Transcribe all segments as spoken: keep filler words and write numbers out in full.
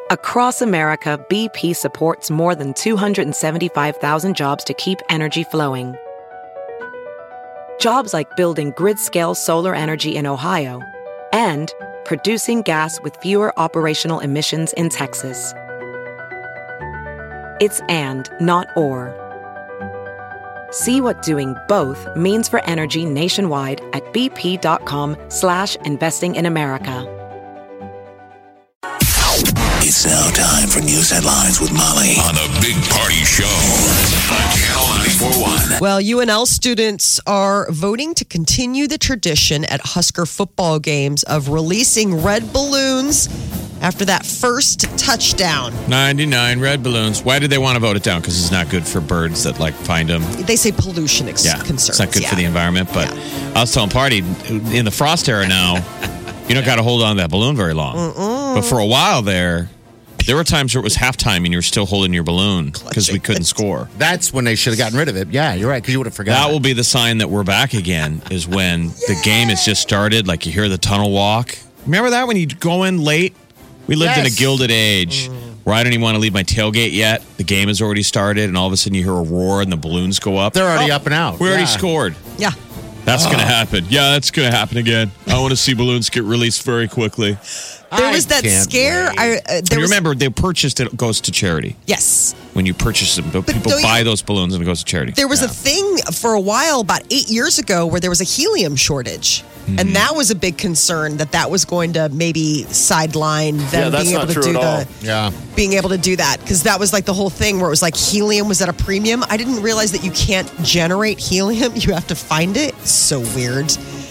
Across America, B P supports more than two hundred seventy-five thousand jobs to keep energy flowing. Jobs like building grid-scale solar energy in Ohio and producing gas with fewer operational emissions in Texas. It's and, not or. See what doing both means for energy nationwide at bp.com slash investing in America. It's now time for news headlines with Molly on the Big Party Show on Channel ninety-four point one. Well, U N L students are voting to continue the tradition at Husker football games of releasing red balloons after that first touchdown. ninety-nine red balloons. Why did they want to vote it down? Because it's not good for birds that like find them. They say pollution ex- yeah, concerns. It's not good yeah. for the environment. But yeah. I was telling Party, in the frost era now, you don't got to hold on to that balloon very long. Mm-mm. But for a while there, there were times where it was halftime and you were still holding your balloon because we couldn't score. That's when they should have gotten rid of it. Yeah, you're right, because you would have forgotten. That will be the sign that we're back again, is when the game has just started, like you hear the tunnel walk. Remember that when you go in late? We lived Yes. in a gilded age where I don't even want to leave my tailgate yet. The game has already started, and all of a sudden you hear a roar and the balloons go up. They're already oh, up and out. We already yeah. scored. Yeah. That's oh. going to happen. Yeah, that's going to happen again. I want to see balloons get released very quickly. There was that scare. I, uh, there you was, remember, they purchased it, goes to charity. Yes. When you purchase them, but people buy you, those balloons and it goes to charity. There was yeah. a thing for a while, about eight years ago, where there was a helium shortage. Mm-hmm. And that was a big concern, that that was going to maybe sideline them yeah, being able to do the yeah. being able to do that, because that was like the whole thing where it was like helium was at a premium. I didn't realize that you can't generate helium; you have to find it. It's so weird.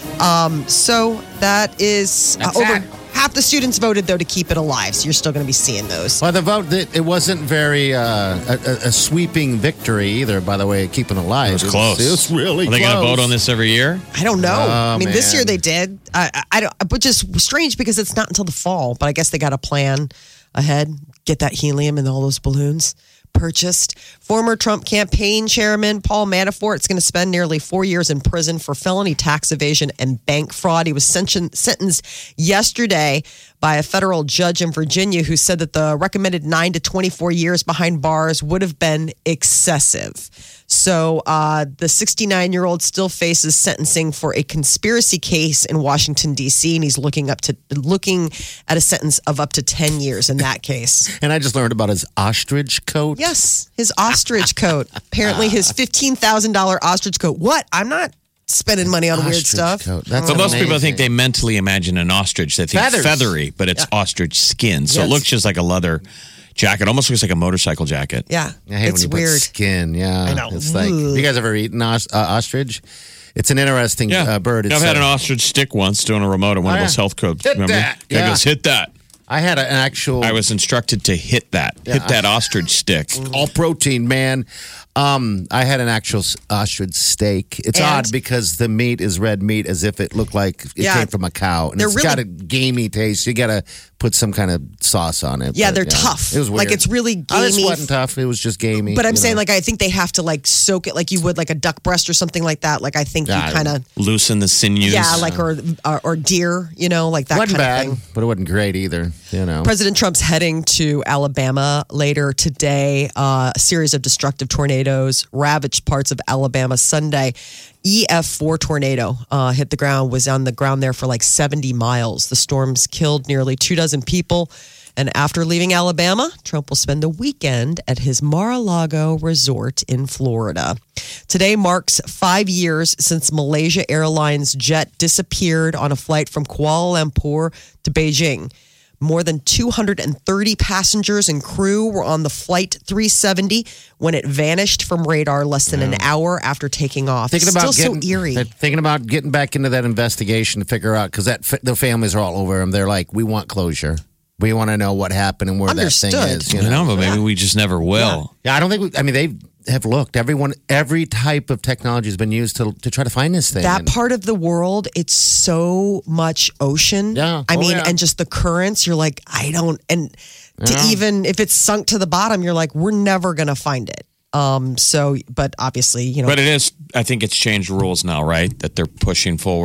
Um, so that is uh, over. That. Half the students voted, though, to keep it alive, so you're still going to be seeing those. Well, the vote, it wasn't very uh, a, a sweeping victory either, by the way, keeping it alive. It was close. It was, it was really Are they close. going to vote on this every year? I don't know. Oh, I mean, man. this year they did. I, I, I don't, which is strange because it's not until the fall, but I guess they got a plan ahead. Get that helium and all those balloons purchased. Former Trump campaign chairman Paul Manafort is going to spend nearly four years in prison for felony tax evasion and bank fraud. He was sen- sentenced yesterday by a federal judge in Virginia who said that the recommended nine to twenty-four years behind bars would have been excessive. So uh, the sixty-nine-year-old still faces sentencing for a conspiracy case in Washington, D C, and he's looking up to looking at a sentence of up to ten years in that case. And I just learned about his ostrich coat. Yes, his ostrich coat. Apparently his fifteen thousand dollars ostrich coat. What? I'm not spending money on ostrich weird stuff. Coat. That's But most amazing. people think they mentally imagine an ostrich. They think Feathers. feathery, but it's Yeah. ostrich skin. So Yes. it looks just like a leather jacket. Almost looks like a motorcycle jacket. Yeah, I hate it's when you weird. put skin. Yeah, I know. It's like, you guys ever eaten os- uh, ostrich? It's an interesting Yeah. uh, bird. It's, I've had uh, an ostrich stick once doing a remote at one Oh, of yeah. those health clubs. Hit Remember? that. Guy Yeah. goes, hit that. I had a, an actual. I was instructed to hit that. Yeah. Hit that ostrich stick. all protein, man. Um, I had an actual s- ostrich steak. It's And? odd because the meat is red meat, as if it looked like it Yeah. came from a cow, and They're it's really- got a gamey taste. You got to put some kind of sauce on it. Yeah, but, they're tough. It was weird. Like, it's really Oh, this gamey. wasn't tough. It was just gamey. But I'm you saying, know. like, I think they have to, like, soak it like you would, like, a duck breast or something like that. Like, I think Yeah, you kind of, Loosen the sinews. yeah, like, or, or or deer, you know, like that wasn't kind bad, of thing. but it wasn't great either. You know, President Trump's heading to Alabama later today. Uh, a series of destructive tornadoes ravaged parts of Alabama Sunday. E F four tornado uh, hit the ground, was on the ground there for like seventy miles. The storms killed nearly two dozen people. And after leaving Alabama, Trump will spend the weekend at his Mar-a-Lago resort in Florida. Today marks five years since Malaysia Airlines jet disappeared on a flight from Kuala Lumpur to Beijing. More than two hundred thirty passengers and crew were on the flight three seventy when it vanished from radar less than an hour after taking off. thinking It's about still getting, so eerie. they're Thinking about getting back into that investigation to figure out, because that fa- the families are all over them. They're like, we want closure. We want to know what happened and where Understood. that thing is. You I know? know, but maybe we just never will. Yeah, I don't think. We, I mean, they have looked. Everyone, every type of technology has been used to to try to find this thing. That And- part of the world, it's so much ocean. Yeah. I Oh, mean, yeah. and just the currents, you're like, I don't, and to Yeah. even, if it's sunk to the bottom, you're like, we're never going to find it. Um. So, but obviously, you know. But it is, I think it's changed rules now, right? That they're pushing forward.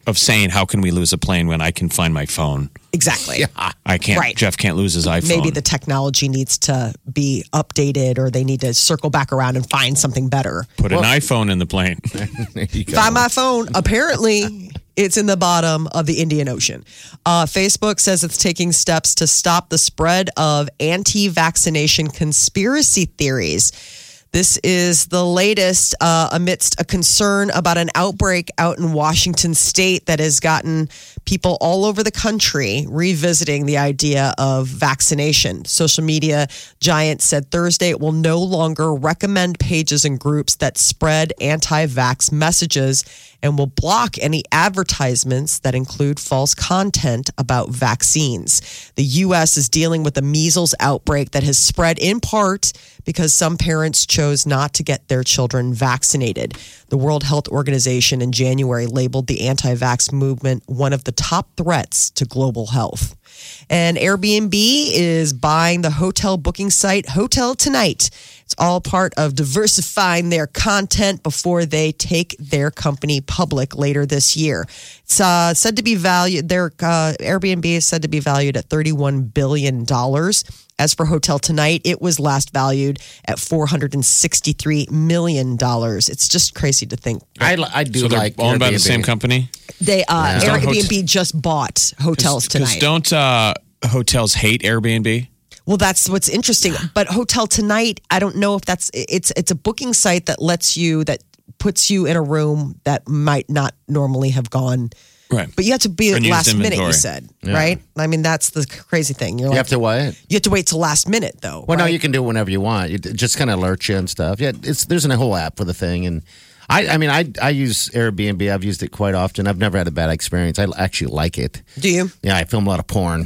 of saying, how can we lose a plane when I can find my phone? Exactly. Yeah. I can't, Right. Jeff can't lose his iPhone. Maybe the technology needs to be updated or they need to circle back around and find something better. Put an iPhone in the plane. There you go. Find my phone. Apparently, it's in the bottom of the Indian Ocean. Uh, Facebook says it's taking steps to stop the spread of anti-vaccination conspiracy theories. This is the latest uh, amidst a concern about an outbreak out in Washington state that has gotten people all over the country revisiting the idea of vaccination. Social media giant said Thursday it will no longer recommend pages and groups that spread anti-vax messages and will block any advertisements that include false content about vaccines. The U S is dealing with a measles outbreak that has spread in part because some parents chose not to get their children vaccinated. The World Health Organization in January labeled the anti-vax movement one of the top threats to global health. And Airbnb is buying the hotel booking site Hotel Tonight. It's all part of diversifying their content before they take their company public later this year. It's uh, said to be valued, their uh, Airbnb is said to be valued at thirty-one billion dollars. As for Hotel Tonight, it was last valued at four hundred sixty-three million dollars. It's just crazy to think. I, I do So they're like owned by the Airbnb. same company? They uh, Yeah. Airbnb just bought Hotels Because Tonight. don't uh, hotels hate Airbnb? Well, that's what's interesting. But Hotel Tonight, I don't know if that's it's it's a booking site that lets you that puts you in a room that might not normally have gone. Right. But you have to be at Unused last minute, inventory. you said, right? I mean, that's the crazy thing. You're You like, have to what? you have to wait till last minute, though. Well, no, right? you can do it whenever you want. It just kind of alerts you and stuff. Yeah, it's there's a whole app for the thing, and I, I mean, I, I use Airbnb. I've used it quite often. I've never had a bad experience. I actually like it. Do you? Yeah, I film a lot of porn.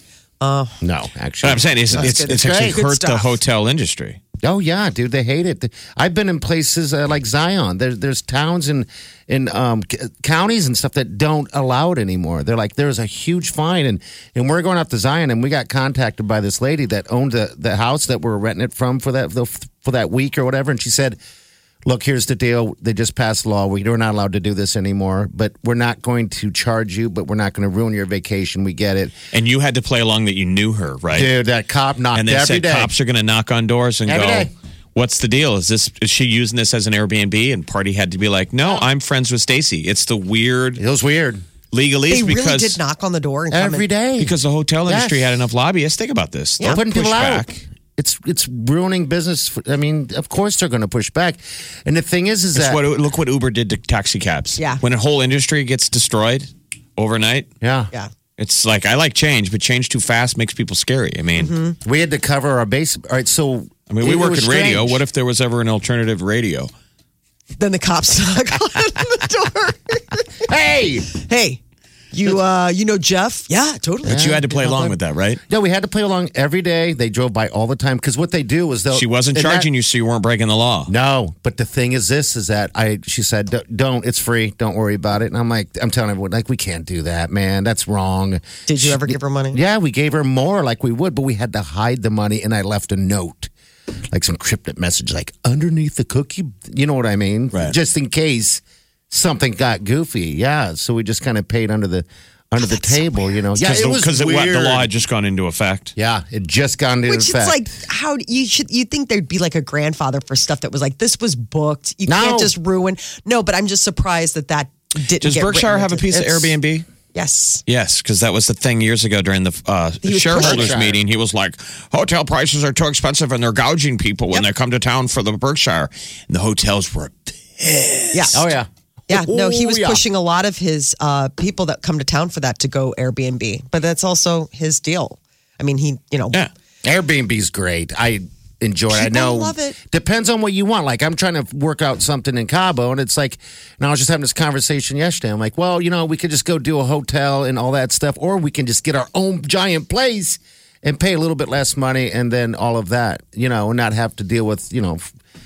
Uh, No, actually, But I'm saying it's, That's it's, good. it's It's actually great. hurt Good the stuff. hotel industry. Oh yeah, dude, they hate it. I've been in places uh, like Zion. There, there's towns and in um, c- counties and stuff that don't allow it anymore. They're like, there's a huge fine, and and we're going out to Zion, and we got contacted by this lady that owned the the house that we're renting it from for that for that week or whatever, and she said, look, here's the deal. They just passed a law. We're not allowed to do this anymore, but we're not going to charge you, but we're not going to ruin your vacation. We get it. And you had to play along that you knew her, right? Dude, that cop knocked and they every said day. cops are going to knock on doors and Every go, day. what's the deal? Is this is she using this as an Airbnb? And Party had to be like, no, I'm friends with Stacy. It's the weird It was weird. legalese they really because did knock on the door and come Every in. day. because the hotel Yes. industry had enough lobbyists. Think about this. They're They'll putting push people out. back. It's it's ruining business. For, I mean, of course they're going to push back. And the thing is, is It's that what, look what Uber did to taxi cabs. Yeah. When a whole industry gets destroyed overnight, yeah, Yeah. it's like, I like change, but change too fast makes people scary. I mean, Mm-hmm. we had to cover our base. All right, so I mean, we it work was in radio. strange. What if there was ever an alternative radio? Then the cops knock on the door. Hey, Hey, you uh, you know Jeff? Yeah, totally. But you had to play along with that, right? yeah, we had to play along every day. They drove by all the time because what they do is they'll. She wasn't and charging that- you, so you weren't breaking the law. No, but the thing is, this is that I. She said, "D- "Don't. It's free. Don't worry about it." And I'm like, I'm telling everyone, like, we can't do that, man. That's wrong. Did you ever give her money? Yeah, we gave her more, like we would, but we had to hide the money, and I left a note, like some cryptic message, like underneath the cookie. You know what I mean? Right. Just in case something got goofy. Yeah, so we just kind of paid under the under the table. You know? Yeah, Because it the, was 'cause it- what, weird. the law had just gone into effect. Yeah, it just gone into Which effect. it's like how you should you think there'd be like a grandfather for stuff that was like this was booked. You No. can't just ruin. No, but I'm just surprised that that didn't. Does get Berkshire written have a into- piece of It's- Airbnb? Yes. Yes, because that was the thing years ago during the uh, was shareholders Berkshire. meeting. He was like, hotel prices are too expensive and they're gouging people when Yep. they come to town for the Berkshire. And the hotels were Yeah. oh yeah, Yeah, no, he was Oh, yeah. pushing a lot of his uh, people that come to town for that to go Airbnb, but that's also his deal. I mean, he, you know, Yeah. Airbnb's great. I enjoy it. I People know. love it. Depends on what you want. Like I'm trying to work out something in Cabo, and it's like, and I was just having this conversation yesterday. I'm like, well, you know, we could just go do a hotel and all that stuff, or we can just get our own giant place and pay a little bit less money, and then all of that, you know, and not have to deal with, you know,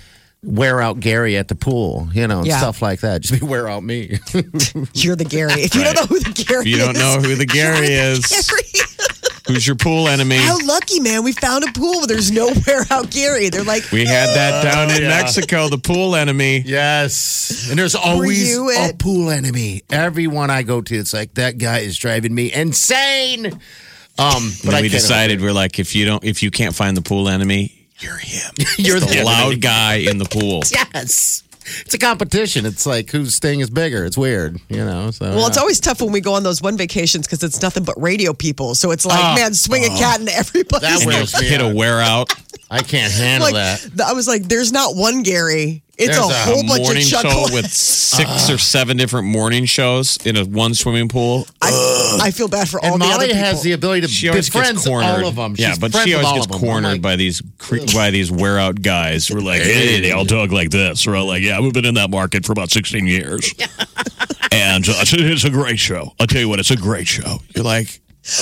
wear out Gary at the pool, you know, and Yeah. stuff like that. Just be wear out me. you're the Gary. If you don't know who the Gary If you don't is, know who the Gary is, Gary. Who's your pool enemy? How lucky, man. We found a pool where there's no Wear Out Gary. They're like, We had that down in yeah. Mexico, the pool enemy. Yes. And there's always you a it? pool enemy. Everyone I go to, it's like, that guy is driving me insane. Um, but But I we can't decided we're like, if you don't, if you can't find the pool enemy, you're him. You're the the loud guy in the pool. Yes. It's a competition. It's like whose thing is bigger. It's weird, you know. So well, it's yeah. always tough when we go on those one vacations because it's nothing but radio people. So it's like, Oh. man, swing a cat into everybody's That And wears you me hit a out. wear out. I can't handle like, that. th- I was like, there's not one Gary. It's There's a a whole bunch of Morning Chuck. show with six or seven different morning shows in a one swimming pool. I, I feel bad for all And the other Molly people. has the ability to She always befriend gets cornered. all of them. Yeah, She's but friends she with always all gets of them. cornered I'm like, by these cre- by these wear out guys. We're like, hey, they all talk like this. We're all like, yeah, we've been in that market for about sixteen years, and uh, it's, it's a great show. I'll tell you what, it's a great show. You're like,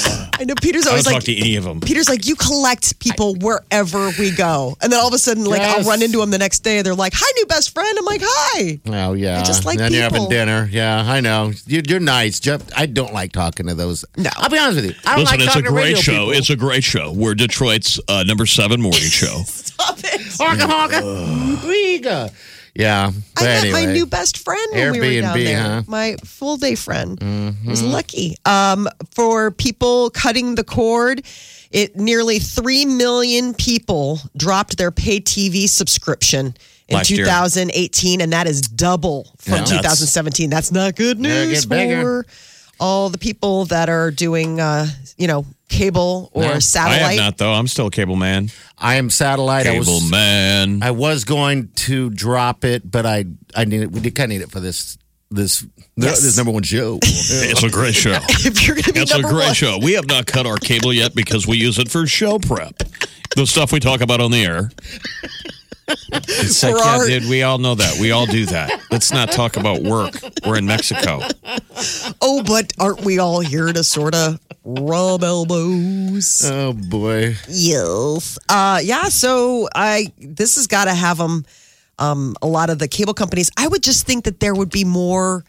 I know Peter's I don't always talk like, to any of them. Peter's like, you collect people wherever we go. And then all of a sudden, like, I'll Yes. run into them the next day. They're like, hi, new best friend. I'm like, hi. Oh yeah, I just like and then you're having people. dinner. Yeah, I know. You're, you're nice, Jeff. I don't like talking to those. No. I'll be honest with you. I don't Listen, like it's a talking to great radio show. people. It's a great show. We're Detroit's uh, number seven morning show. Stop it. honka honka. Riga. Yeah, but I met anyway. my new best friend when we were down Airbnb, there. huh? My full day friend. Was lucky. Um, for people cutting the cord, it nearly three million people dropped their pay T V subscription in Last year. two thousand eighteen, and that is double from Yeah. two thousand seventeen. That's not good Yeah, news get bigger. for all the people that are doing, uh, you know, cable or No. I satellite. have not though. I'm still a cable man. I am satellite. I Cable was, man. I was going to drop it, but I I need it. We did kind of need it for this this Yes. this number one show. It's a great show. If you're going to be It's a number great one. show. We have not cut our cable yet because we use it for show prep. The stuff we talk about on the air. It's like, For yeah, our- dude, we all know that. We all do that. Let's not talk about work. We're in Mexico. Oh, but aren't we all here to sort of rub elbows? Oh boy. Yes. Uh, yeah. So I this has got to have them. Um, a lot of the cable companies. I would just think that there would be more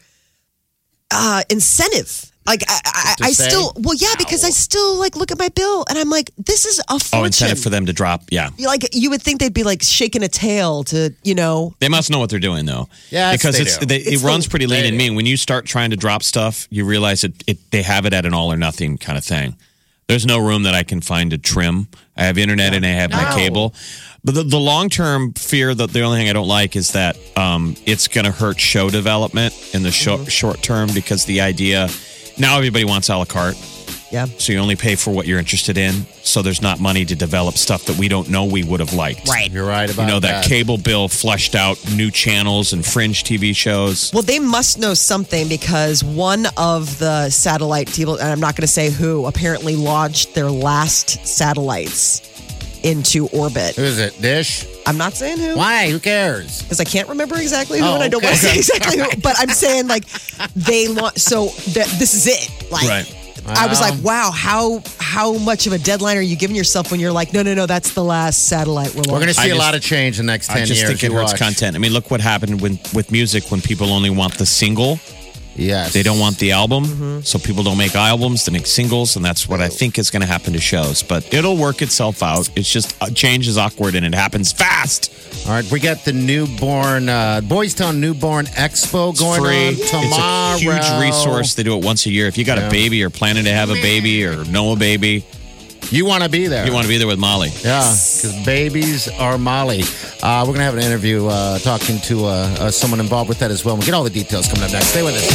uh, incentive. Like I, I, To I say? still. Well, yeah, because I still like look at my bill and I'm like, this is a fortune. Oh, incentive for them to drop. Yeah. Like you would think they'd be like shaking a tail to, you know. They must know what they're doing, though. Yes, because they it's, do. they, It's it runs the- pretty lean they and do. mean. When you start trying to drop stuff, you realize it, it. They have it at an all or nothing kind of thing. There's no room that I can find to trim. I have internet and I have my No. cable. But the, the long term fear that the only thing I don't like is that um, it's going to hurt show development in the short Mm-hmm. short term because the idea now everybody wants a la carte. Yeah. So you only pay for what you're interested in. So there's not money to develop stuff that we don't know we would have liked. Right. You're right about You know, that, that. cable bill flushed out new channels and fringe T V shows. Well, they must know something because one of the satellite people, and I'm not going to say who, apparently launched their last satellites into orbit. Who is it? Dish? I'm not saying who. Why? Who cares? Because I can't remember exactly who, Oh, and I don't okay. want to say exactly who. But I'm saying like they launch. So th- this is it. Like Right. I was Wow. like, wow, how how much of a deadline are you giving yourself when you're like, no, no, no, that's the last satellite we're We're going to launching. see I a just- lot of change in the next ten I just years. think it You hurts watch. content. I mean, look what happened when, with music when people only want the single. Yes. They don't want the album. Mm-hmm. So people don't make albums, they make singles. And that's what I think is going to happen to shows. But it'll work itself out. It's just uh, change is awkward and it happens fast. All right, we got the newborn, uh, Boys Town Newborn Expo going Free. on tomorrow. It's a huge resource. They do it once a year. If you got Yeah. a baby or planning to have a baby or know a baby, You want to be there. you want to be there with Molly. Yeah, because babies are Molly. Uh, we're going to have an interview uh, talking to uh, uh, someone involved with that as well. We'll get all the details coming up next. Stay with us.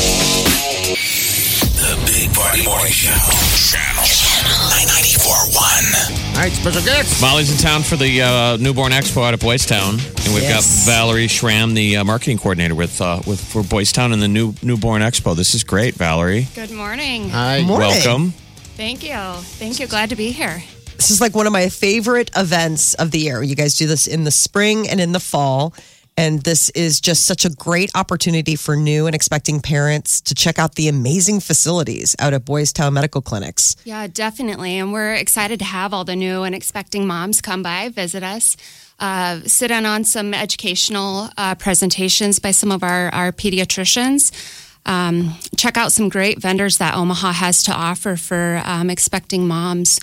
The Big Party Morning Show. Channel, Channel ninety-four point one. All right, special guests. Molly's in town for the uh, Newborn Expo out of Boys Town, and we've Yes. got Valerie Schramm, the uh, marketing coordinator with uh, with for Boys Town and the new Newborn Expo. This is great, Valerie. Good morning. Hi. Morning. Welcome. Thank you. Thank you. Glad to be here. This is like one of my favorite events of the year. You guys do this in the spring and in the fall. And this is just such a great opportunity for new and expecting parents to check out the amazing facilities out at Boys Town Medical Clinics. Yeah, definitely. And we're excited to have all the new and expecting moms come by, visit us, uh, sit in on some educational uh, presentations by some of our, our pediatricians. um, check out some great vendors that Omaha has to offer for um, expecting moms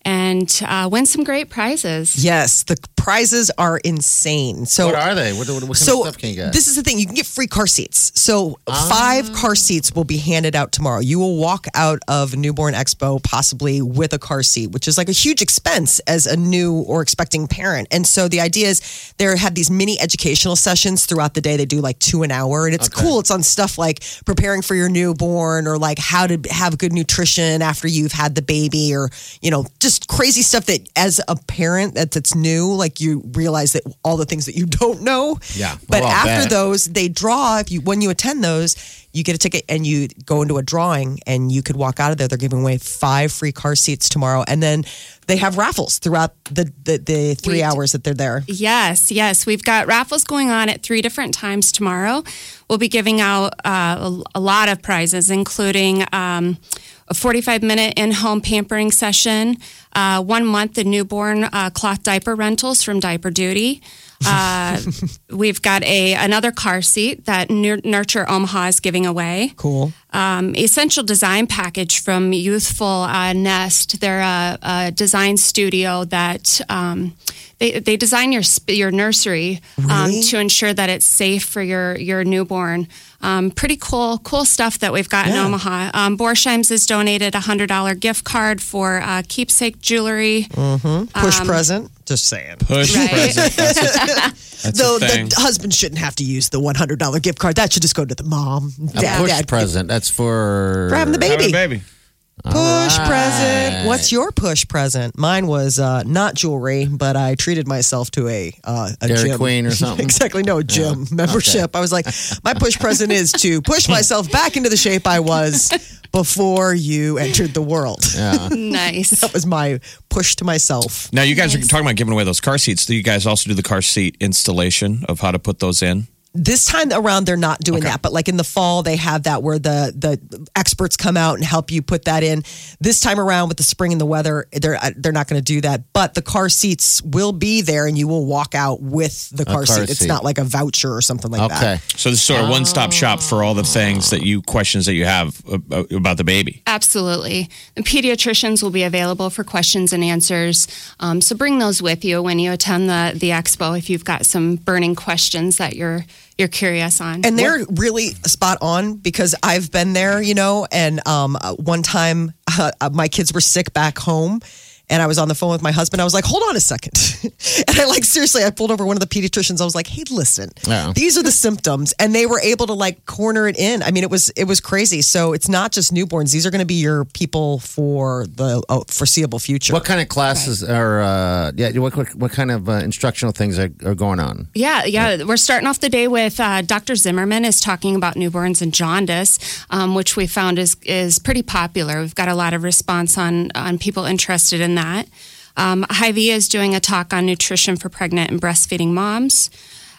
and uh, win some great prizes. Yes, the prizes are insane. So What are they? What, what, what kind so of stuff can you get? this is the thing. You can get free car seats. So five car seats will be handed out tomorrow. You will walk out of Newborn Expo possibly with a car seat, which is like a huge expense as a new or expecting parent. And so the idea is they have these mini educational sessions throughout the day. They do like two an hour. And it's Okay. cool. It's on stuff like preparing for your newborn or like how to have good nutrition after you've had the baby or, you know, just crazy stuff that as a parent that, that's new, like you realize that all the things that you don't know. Yeah. But Oh, I'll after bet. those, they draw. If you when you attend those, you get a ticket and you go into a drawing and you could walk out of there. They're giving away five free car seats tomorrow. And then they have raffles throughout the, the, the three We- hours that they're there. Yes, yes. We've got raffles going on at three different times tomorrow. We'll be giving out uh, a, a lot of prizes, including um, a forty-five minute in-home pampering session, uh, one month of newborn uh, cloth diaper rentals from Diaper Duty. Uh, we've got a another car seat that Nur- Nurture Omaha is giving away. Cool. Um, essential design package from Youthful uh, Nest. They're a, a design studio that um, they they design your sp- your nursery um, Really? to ensure that it's safe for your your newborn. Um, pretty cool cool stuff that we've got in Yeah. Omaha. Um, Borsheim's has donated a hundred dollar gift card for uh, keepsake jewelry. Push present. Just saying. Push Right. present. That's a, that's Though a thing. the husband shouldn't have to use the one hundred dollar gift card. That should just go to the mom. A Dad, push dad. present. That's for For having the Having baby. a baby. Push right. present. What's your push present? Mine was uh, not jewelry, but I treated myself to a uh, a Dairy gym. Queen or something? Exactly, no gym membership. I was like, my push present is to push myself back into the shape I was before you entered the world. Yeah. Nice. That was my push to myself. Now, you guys are talking about giving away those car seats. Do you guys also do the car seat installation of how to put those in? This time around, they're not doing Okay. that, but like in the fall, they have that where the the experts come out and help you put that in. This time around, with the spring and the weather, they're they're not going to do that. But the car seats will be there, and you will walk out with the car, car seat. It's seat. not like a voucher or something like Okay. that. So this is sort of one stop shop for all the things that you questions that you have ab- about the baby. Absolutely. The pediatricians will be available for questions and answers. Um, so bring those with you when you attend the, the expo if you've got some burning questions that you're you're curious on. And they're really spot on because I've been there, you know. And um, uh, one time, uh, uh, my kids were sick back home. And I was on the phone with my husband. I was like, hold on a second. And I like, seriously, I pulled over one of the pediatricians. I was like, hey, listen, Yeah. these are the symptoms. And they were able to like corner it in. I mean, it was, it was crazy. So it's not just newborns. These are going to be your people for the uh, foreseeable future. What kind of classes are, uh, yeah, what, what, what kind of uh, instructional things are, are going on? Yeah, yeah. We're starting off the day with uh, Doctor Zimmerman is talking about newborns and jaundice, um, which we found is is pretty popular. We've got a lot of response on on people interested in that. Um, Hy-Vee is doing a talk on nutrition for pregnant and breastfeeding moms.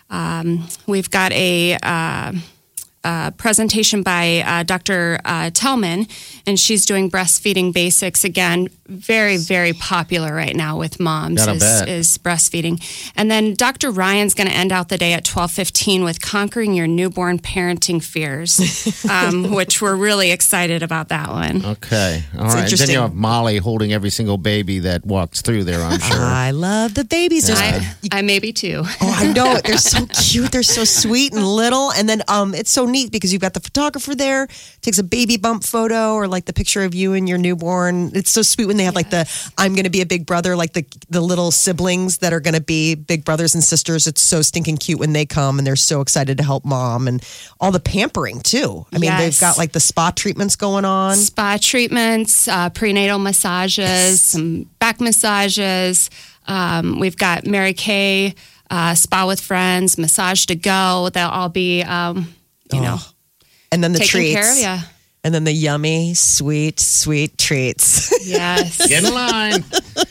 Um, we've got a uh, uh, presentation by uh, Doctor Uh, Tellman, and she's doing breastfeeding basics. Again, very, very popular right now with moms Gotta is, bet. is breastfeeding. And then Doctor Ryan's going to end out the day at twelve fifteen with conquering your newborn parenting fears, um, which we're really excited about that one. Okay. All right. And then interesting. you have Molly holding every single baby that walks through there, I'm sure. I love the babies. There's- I, I maybe too. Oh, I know it. They're so cute. They're so sweet and little. And then um, it's so neat because you've got the photographer there, takes a baby bump photo or like the picture of you and your newborn. It's so sweet when they have like the I'm going to be a big brother, like the the little siblings that are going to be big brothers and sisters. It's so stinking cute when they come and they're so excited to help mom and all the pampering too. I mean, they've Yes. got like the spa treatments going on. Spa treatments, uh, prenatal massages, some back massages. Um, we've got Mary Kay, uh, Spa with Friends, Massage to Go. They'll all be, um, you know, And then the taking treats. care of you. And then the yummy, sweet, sweet treats. Yes. Get in line.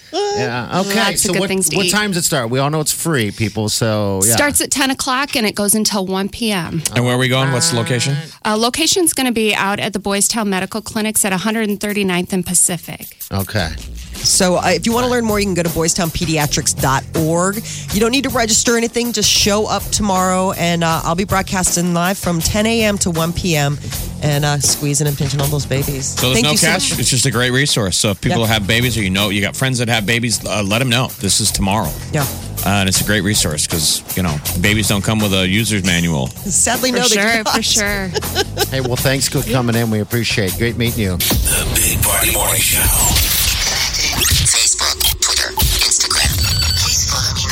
Yeah. Okay. Lots of so good what, things to what eat. time does it start? We all know it's free, people. So yeah. Starts at ten o'clock and it goes until one p.m. And where are we going? What's the location? Uh, location's going to be out at the Boys Town Medical Clinics at one thirty-ninth and Pacific. Okay. So uh, if you want to learn more, you can go to boys town pediatrics dot org. You don't need to register anything. Just show up tomorrow, and uh, I'll be broadcasting live from ten a.m. to one p.m. and uh, squeezing and pinching on those babies. So there's Thank no you so catch. much. It's just a great resource. So if people Yep. have babies, or you know you got friends that have babies, uh, let them know. This is tomorrow. Yeah. Uh, and it's a great resource because, you know, babies don't come with a user's manual. Sadly, For no, they sure, do not. for sure. Hey, well, thanks for coming in. We appreciate it. Great meeting you. The Big Party Morning Show. Facebook, Twitter, Instagram. Please follow me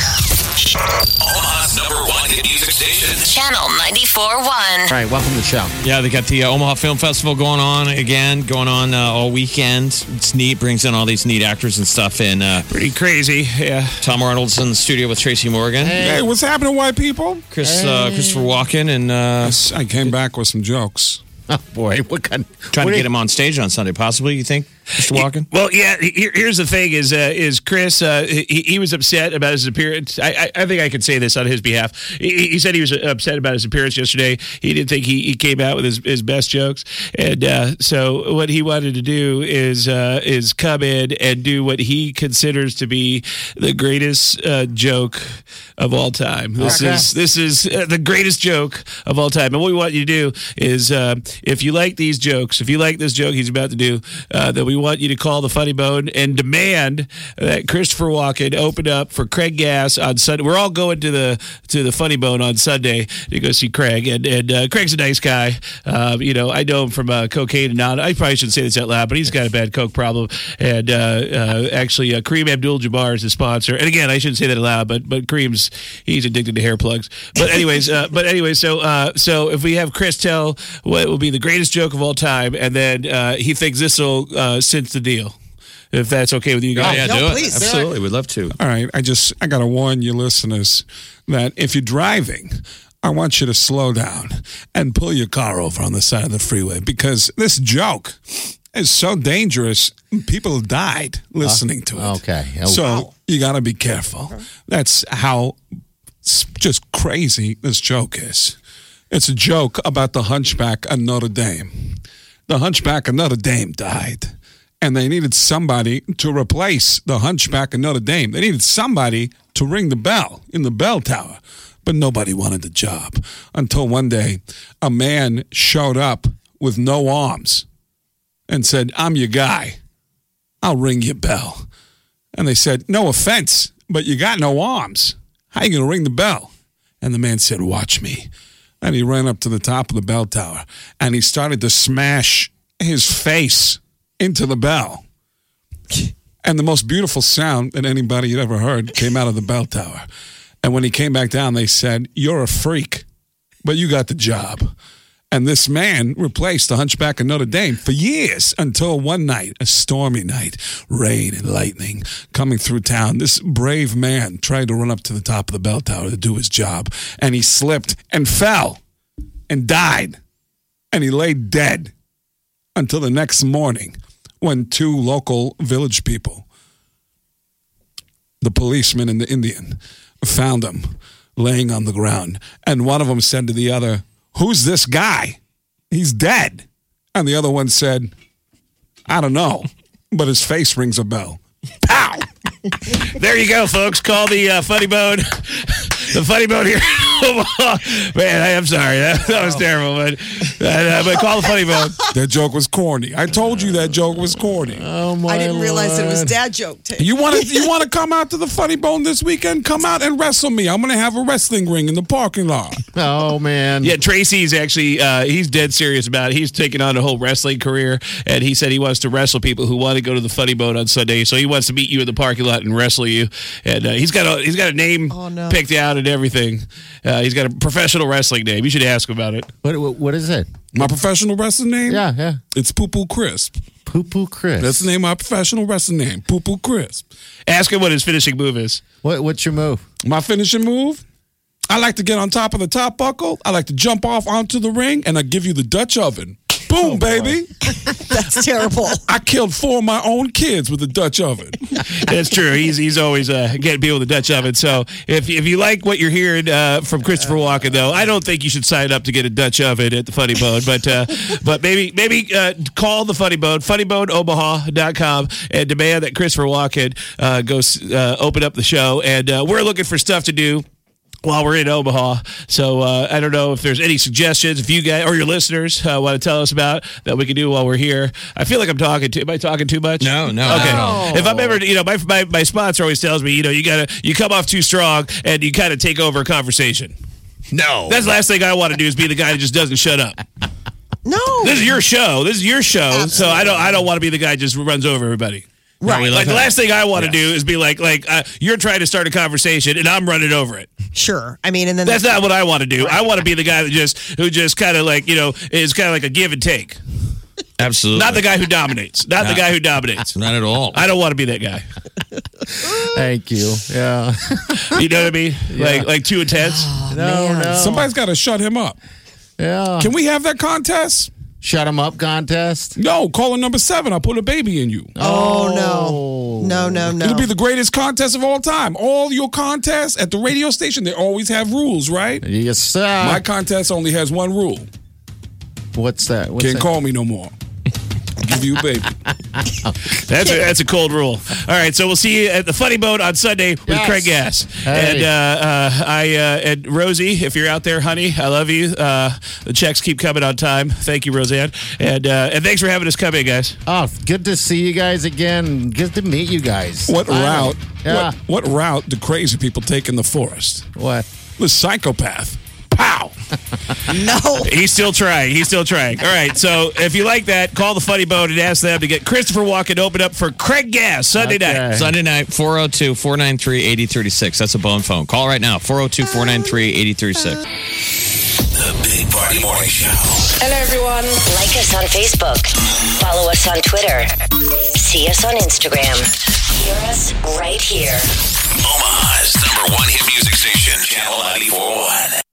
now. Omaha's number one hit music station. Channel ninety-four point one. All right, welcome to the show. Yeah, they got the uh, Omaha Film Festival going on again, going on uh, all weekend. It's neat, brings in all these neat actors and stuff. And uh, Pretty crazy, yeah. Tom Arnold's in the studio with Tracy Morgan, Hey, what's happening, white people? Chris uh, Christopher Walken, and uh, I came back with some jokes. Oh, boy. What kind trying what to are- get him on stage on Sunday, possibly, you think, Mister Walken? Well, yeah. Here, here's the thing: is uh, is Chris? Uh, he, he was upset about his appearance. I, I, I think I can say this on his behalf. He, he said he was upset about his appearance yesterday. He didn't think he, he came out with his, his best jokes, and uh, so what he wanted to do is uh, is come in and do what he considers to be the greatest uh, joke of all time. This Okay. is this is uh, the greatest joke of all time. And what we want you to do is, uh, if you like these jokes, if you like this joke he's about to do, uh, then we want you to call the Funny Bone and demand that Christopher Walken open up for Craig Gass on Sunday. We're all going to the to the Funny Bone on Sunday to go see Craig, and and uh, Craig's a nice guy. Uh, you know, I know him from uh, cocaine and now. I probably shouldn't say this out loud, but he's got a bad coke problem. And uh, uh, actually, uh, Kareem Abdul-Jabbar is his sponsor. And again, I shouldn't say that out loud, but but Kareem's he's addicted to hair plugs. But anyways, uh, but anyway, so uh, so if we have Chris tell what will be the greatest joke of all time, and then uh, he thinks this will uh, cinch the deal. If that's okay with you Oh, guys. yeah, no, do please. it. Absolutely. We'd love to. All right, I just I gotta warn you listeners that if you're driving, I want you to slow down and pull your car over on the side of the freeway because this joke is so dangerous. People died listening to it. okay. Oh, so wow. you gotta be careful. That's how s- just crazy this joke is. It's a joke about the Hunchback of Notre Dame. The Hunchback of Notre Dame died. And they needed somebody to replace the Hunchback of Notre Dame. They needed somebody to ring the bell in the bell tower. But nobody wanted the job until one day a man showed up with no arms and said, I'm your guy. I'll ring your bell. And they said, no offense, but you got no arms. How you going to ring the bell? And the man said, watch me. And he ran up to the top of the bell tower and he started to smash his face into the bell. And the most beautiful sound that anybody had ever heard came out of the bell tower. And when he came back down, they said, you're a freak, but you got the job. And this man replaced the Hunchback of Notre Dame for years until one night, a stormy night, rain and lightning coming through town. This brave man tried to run up to the top of the bell tower to do his job. And he slipped and fell and died. And he lay dead until the next morning when two local village people, the policeman and the Indian, found him laying on the ground. And one of them said to the other, who's this guy? He's dead. And the other one said, I don't know, but his face rings a bell. Pow! There you go, folks. Call the uh, Funny Bone. The Funny Bone here. Man, I am sorry. That, that was terrible. But, uh, but call the Funny Bone. That joke was corny. I told you that joke was corny. Oh, my I didn't realize it was Lord. dad joke. Tape. You want to you want to come out to the Funny Bone this weekend? Come out and wrestle me. I'm going to have a wrestling ring in the parking lot. Oh, man. Yeah, Tracy's actually, uh, he's dead serious about it. He's taking on a whole wrestling career, and he said he wants to wrestle people who want to go to the Funny Bone on Sunday. So he wants to meet you in the parking lot and wrestle you. And uh, he's got a he's got a name Oh, no. picked out and everything. Uh, he's got a professional wrestling name. You should ask him about it. What, what, what is it? My professional wrestling name? Yeah, yeah. It's Poo Poo Crisp. Poo Poo Chris. That's the name of my professional wrestling name, Poo Poo Crisp. Ask him what his finishing move is. What, what's your move? My finishing move? I like to get on top of the top buckle. I like to jump off onto the ring, and I give you the Dutch oven. Boom, baby. That's terrible. I killed four of my own kids with the Dutch oven. That's true. He's he's always uh, getting people with the Dutch oven. So if if you like what you're hearing uh, from Christopher Walken, though, I don't think you should sign up to get a Dutch oven at the Funny Bone. But uh, but maybe maybe uh, call the Funny Bone, funny bone omaha dot com, and demand that Christopher Walken uh, goes uh, open up the show. And uh, we're looking for stuff to do while we're in Omaha. So uh, I don't know if there's any suggestions, if you guys or your listeners uh, want to tell us about that we can do while we're here. I feel like I'm talking too. Am I talking too much? No, no. Okay. No. If I'm ever, you know, my, my my sponsor always tells me, you know, you gotta you come off too strong and you kind of take over a conversation. No, that's the last thing I want to do is be the guy that just doesn't shut up. No, this is your show. This is your show. Absolutely. So I don't I don't want to be the guy that just runs over everybody. Right. No, like the last thing I want to yeah. do is be like, like uh, you're trying to start a conversation and I'm running over it. Sure. I mean, and then that's not what I want to do. Right. I want to be the guy that just who just kind of like you know is kind of like a give and take. Absolutely. Not the guy who dominates. Not, not the guy who dominates. Not at all. I don't want to be that guy. Thank you. Yeah. You know what I mean? Yeah. Like like too intense. Oh, no, man. no. Somebody's got to shut him up. Yeah. Can we have that contest? Shut him up contest? No, caller number seven. I'll put a baby in you. Oh, no. No, no, no. It'll be the greatest contest of all time. All your contests at the radio station, they always have rules, right? Yes, sir. My contest only has one rule. What's that? What's Can't that? call me no more. Give you a baby. That's a, that's a cold rule. All right, so we'll see you at the Funny Bone on Sunday with yes. Craig Gass. Hey. And uh, uh, I uh, and Rosie, if you're out there, honey, I love you. Uh, the checks keep coming on time. Thank you, Roseanne. And uh, and thanks for having us come in, guys. Oh, good to see you guys again. Good to meet you guys. What Finally. route? Yeah. What, what route do crazy people take in the forest? What? The psychopath. Pow! No. He's still trying. He's still trying. All right. So if you like that, call the Funny Bone and ask them to get Christopher Walken open up for Craig Gass Sunday Okay. night. Sunday night, four oh two, four nine three, eight oh three six. That's a Bone phone. Call right now, four oh two, four nine three, eight oh three six. The Big Party Morning Show. Hello, everyone. Like us on Facebook. Follow us on Twitter. See us on Instagram. Hear us right here. Omaha's number one hit music station, Channel ninety-four point one.